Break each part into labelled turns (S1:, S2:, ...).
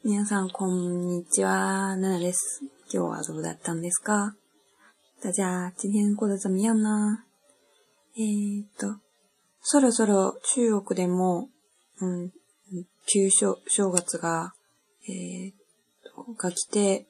S1: 皆さんこんにちは、娜娜です。今日はどうだったんですか？大家今天过得怎么样呢？そろそろ中国でも、旧正月が、来て、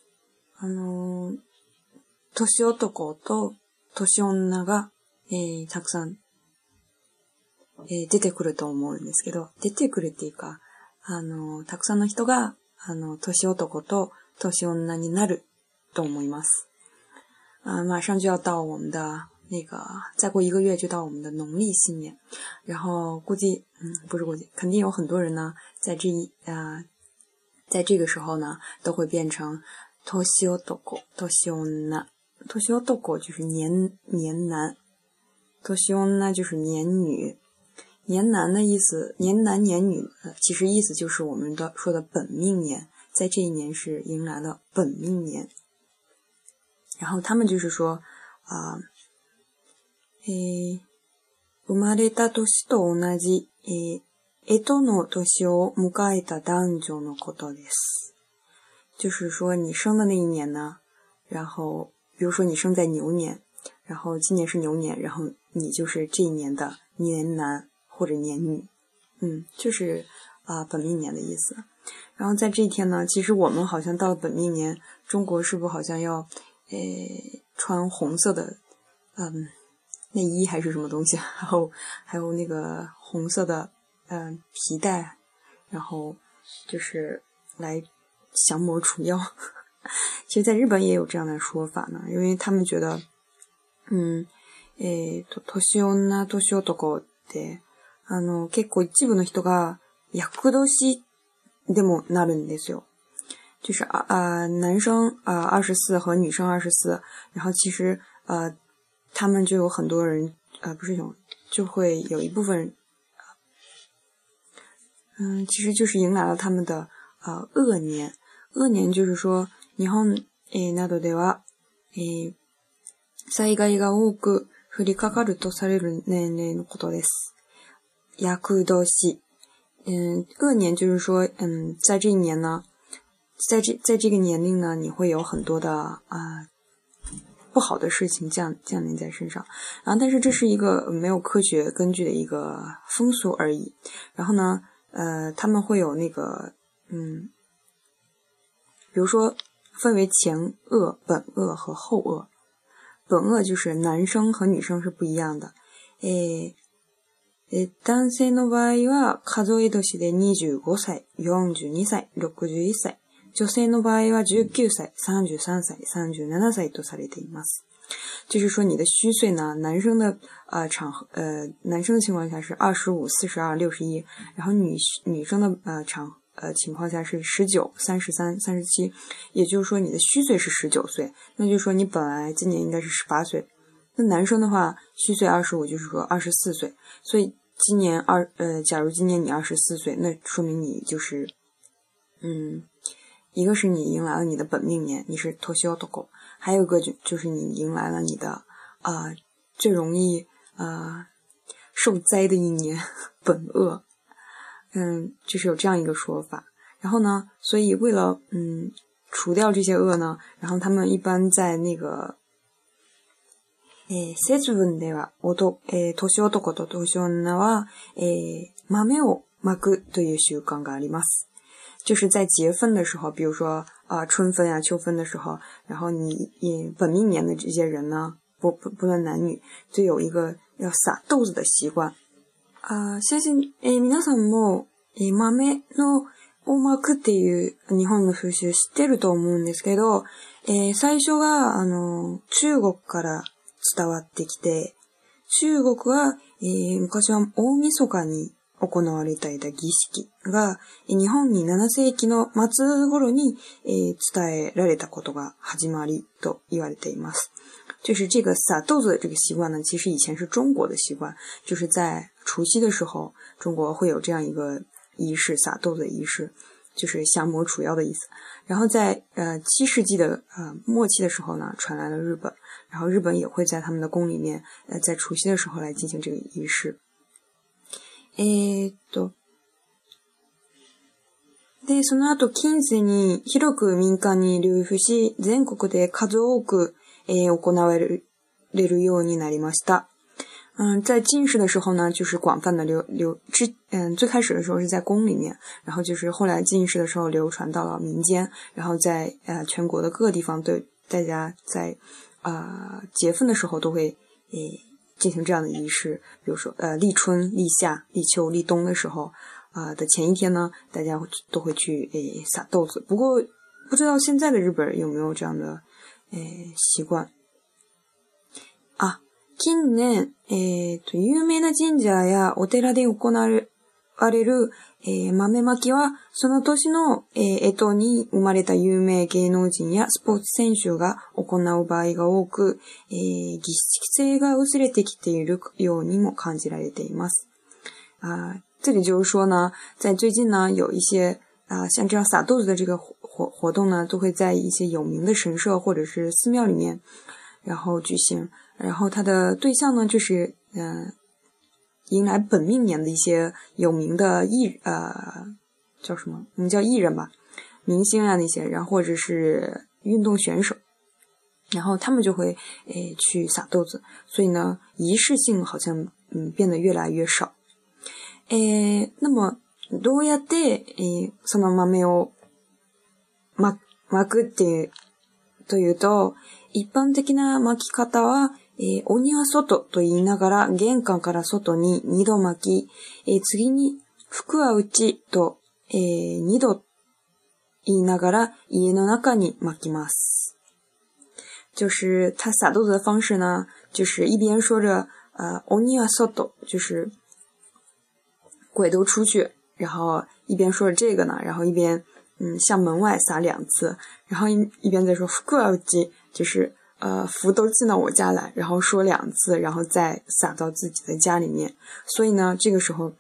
S1: 年男と年女が、たくさん、出てくると思うんですけど、出てくるっていうか、たくさんの人が、年男と年女になると思います。马上就要到我们的再过1个月就到我们的农历新年，然后肯定有很多人呢，在这个时候呢，都会变成年男、年男就是年男，年女就是年女。年男的意思，年男年女，其实意思就是我们说的本命年，在这一年是迎来了本命年。然后他们就是说，生まれた年と同じ、干支の年を迎えた男女のことです。就是说你生的那一年呢，然后比如说你生在牛年，然后今年是牛年，然后你就是这一年的年男或者年女，就是本命年的意思。然后在这一天呢，其实我们好像到了本命年，中国是不是好像要穿红色的内衣还是什么东西，然后还有那个红色的皮带，然后就是来降魔除妖。其实在日本也有这样的说法呢，因为他们觉得年女年男って結構一部の人が厄年でもなるんですよ。就是男生24和女生24，然后其实他们就有很多人就会有一部分人其实就是迎来了他们的恶年。恶年就是说日本などでは災害が多く降りかかるとされる年齢のことです。厄年。恶年就是说在这一年呢，在这个年龄呢，你会有很多的不好的事情降临在身上。然后但是这是一个没有科学根据的一个风俗而已。然后呢他们会有比如说分为前恶、本恶和后恶。本恶就是男生和女生是不一样的。男性の場合は数え年で25歳、42歳、61歳。女性の場合は19歳、33歳、37歳とされています。就是说你的虚岁呢，男生的男生的情况下是25、42、61，然后女生的情况下是19、33、37，也就是说你的虚岁是19岁，那就是说你本来今年应该是18岁。那男生的话，虚岁25，就是说24岁，所以假如今年你24岁，那说明你就是一个是你迎来了你的本命年，你是年男，还有一个就是你迎来了你的最容易受灾的一年本恶。就是有这样一个说法。然后呢，所以为了除掉这些恶呢，然后他们一般在那个節分では年男と年女は豆をまくという習慣があります。就是在节分的时候，比如说春分秋分的时候，然后你本命年的这些人呢，不论男女，就有一个要撒豆子的习惯。相信皆さんも豆のをまくっていう日本の風習知ってると思うんですけど、最初が中国から伝わってきて、中国は、昔は大晦日に行われていた儀式が日本に7世紀の末頃に、伝えられたことが始まりと言われています。就是这个撒豆子的这个习惯呢，其实以前是中国的习惯，就是在除夕的时候，中国会有这样一个仪式，撒豆子的仪式，就是降魔除妖的意思。然后在7世纪的末期的时候呢，传来了日本，然后日本也会在他们的宫里面在除夕的时候来进行这个仪式。 で、その後近世に広く民間に流布し、全国で数多く、行われるようになりました。在晋世的时候呢，就是广泛的最开始的时候是在宫里面，然后就是后来晋世的时候流传到了民间，然后在全国的各个地方对大家在节分的时候都会进行这样的仪式，比如说立春、立夏、立秋、立冬的时候的前一天呢，大家都会去撒豆子。不过不知道现在的日本有没有这样的习惯近年、有名な神社やお寺で行われる、豆まきは、その年の、干支に生まれた有名芸能人やスポーツ選手が行う場合が多く、儀式性が薄れてきているようにも感じられています。这里就是说呢，在最近呢，有一些像这样撒豆子的这个活动呢，都会在一些有名的神社或者是寺庙里面，然后举行。然后它的对象呢，就是迎来本命年的一些有名的叫什么？我们叫艺人吧，明星啊那些，然后或者是运动选手，然后他们就会去撒豆子，所以呢，仪式性好像变得越来越少。那么どうやってその豆をまくってというと、一般的な巻き方はお庭外と言いながら玄関から外に2度巻き、次に福は内と、2度言いながら家の中に巻きます。就是他撒豆子的方式呢，就是一边说着お庭外，就是鬼都出去，然后一边说着这个呢，然后一边向门外撒2次，然后一边在说福は内，就是福都进到我家来，然后说2次，然后再撒到自己的家里面。所以呢，这个时候，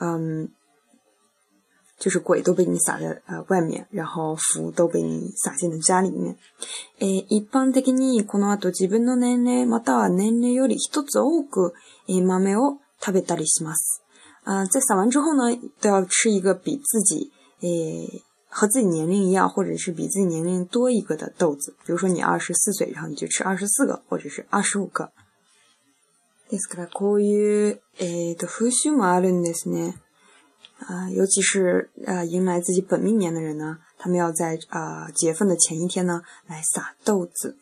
S1: 就是鬼都被你撒在外面，然后福都被你撒进了家里面。一般的にこの後自分の年齢または年齢より一つ多く豆を食べたりします。在撒完之后呢，都要吃一个比自己和自己年龄一样，或者是比自己年龄多一个的豆子。比如说你24岁，然后你就吃24个，或者是25个。ですからこういう風習もあるんですね。尤其是迎来自己本命年的人呢，他们要在节分的前一天呢来撒豆子。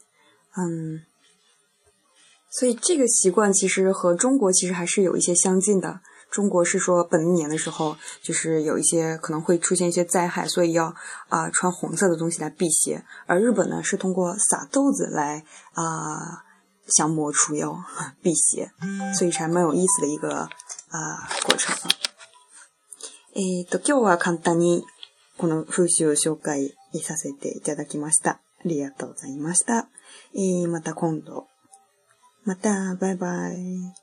S1: 所以这个习惯其实和中国其实还是有一些相近的。中国是说本命年的时候，就是有一些可能会出现一些灾害，所以要穿红色的东西来辟邪。而日本呢是通过撒豆子来降魔除妖辟邪，所以还蛮有意思的一个过程。今日は簡単にこの風習を紹介させていただきました。ありがとうございました。また今度。またバイバイ。